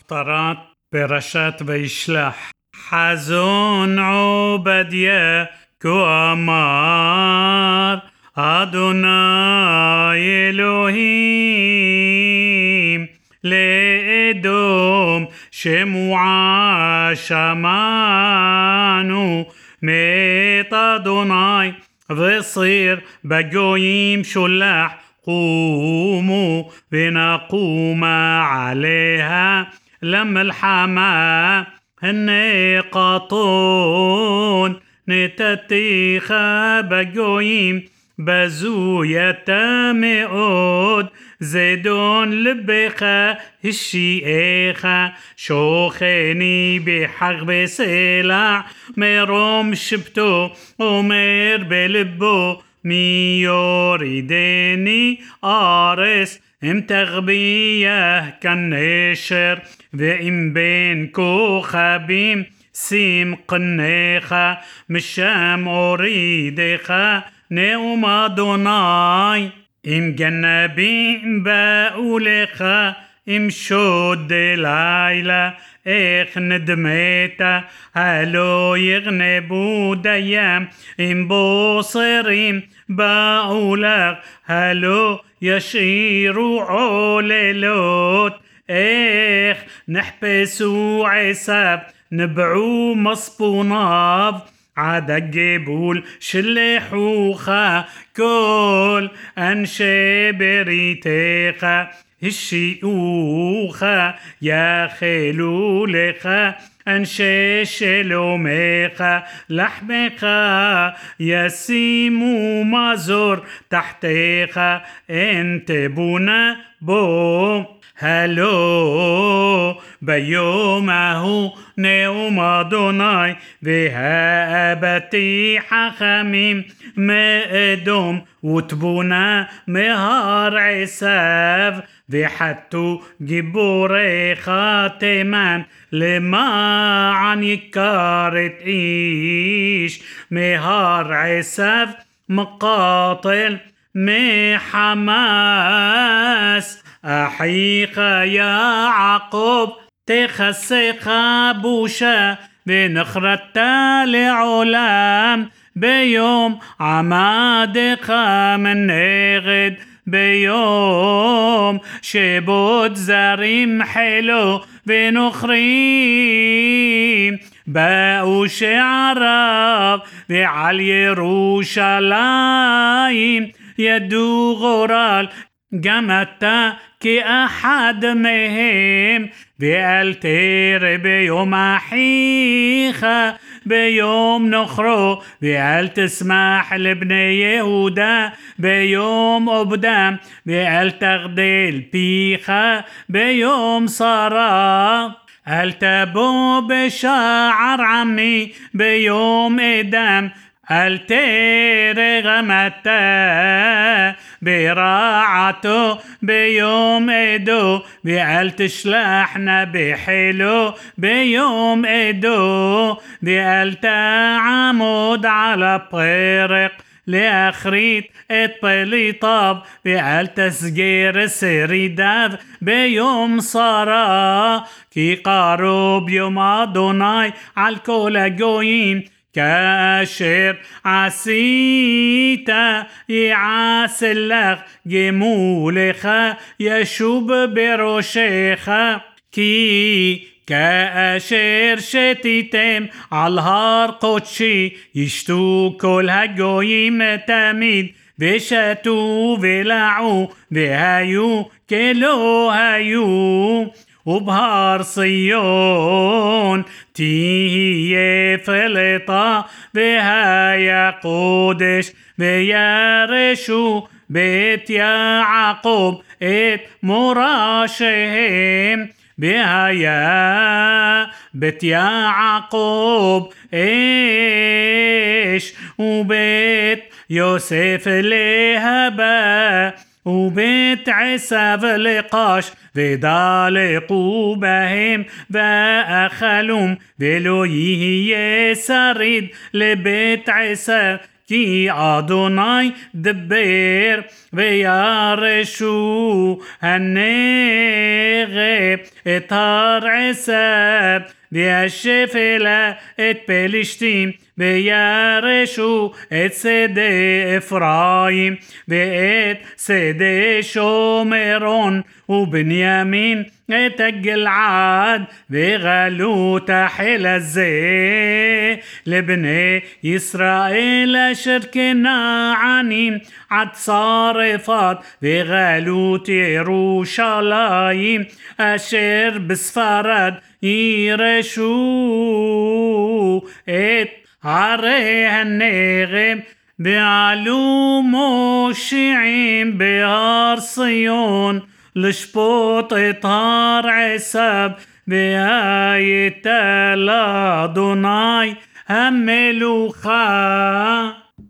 הפטרת פרשת וישלח. חזון עובדיה כה אמר אדוני אלוהים לאדום שמועה שמענו מת אדוני וסיר בגויים שולח قوموا ونقوم عليها لملحمة النقاطون نتتيخا بقويم بزوية مئود زيدون لبخا الشيخة شوخيني بحق بسلع ميروم شبتو ومير بلبو مي يريدني أرس ام تغبيه كالنشر وإم بين كوخبيم سيم قنيخة مشام أريدخة نوم أدوناي إم جنبين باولخة إم شود ليلة إخ ندميتا هلو يغنبو ديام إم بوصريم باولخ هلو يشيروا عللوت إخ نحبسوا عساب نبعوا مصبوناف عاد الجبول شلحوخا كل أنشي بريتيخا الشيوخا يا خلولخا أنشي شلوميخا لحمخا يسيمو مازور تحتيخا انت بونا بو هلو بيومه نوم أدوناي بها أبتي حخميم مأدوم وتبونا مهار عساف بحتو جبوري خاتمان لما عن يكارت إيش مهار عساف مقاتل محماس أحيخ يا عقوب تخسخ بوشا بنخرت لعلام بيوم عمادك من نغد بيوم شبود زريم حلو بنخريم باو شعراب بعلي يروشلايم يدو غرال جمتا كأحد مهم بألتير بيوم أحيخة بيوم نخرو بأل تسمح لبني يهودا بيوم أبدام بأل تغديل بيخة بيوم صرا التبو بشعر عمي بيوم إدام التير غمتا براعته بيوم إدو بأل تشلحنا بحلو بيوم إدو بأل تعمد على طريق لأخريت الطليطاب بأل تسجير سريداف بيوم صرا كي قارب يوم أدوناي عالكل جوين كاشر عسيتا يعاسلخ جمولخ يشوب بروشخ كي كاشر شتيتم عالهار قدشي يشتو كل هجويم تميد بشتو بلعو بهايو كلو هايو وبهار صيون تيه فلطة بها يا قدش بيارشو بيت يعقوب ات مراشهم بها يا بيت يعقوب ايش وبيت يوسف لهبا وبيت عساف لقاش ودالقوا بهم وأخلهم ولو يهي سريد لبيت عساف כי אדוני דבר וירשו הנגב את הר עשב וישפלה את פלשתים וירשו את שדה אפרים ואת שדה שומרון ובנימין את הגלעד וגלות החיל הזה לבני ישראל אשר כנענים עד צרפת וגלות ירושלים אשר בספרד ירשו את ערי הנגב ועלו מושיעים בהר ציון לשפוט את הר עשב והייתה לאדוני המלוכה.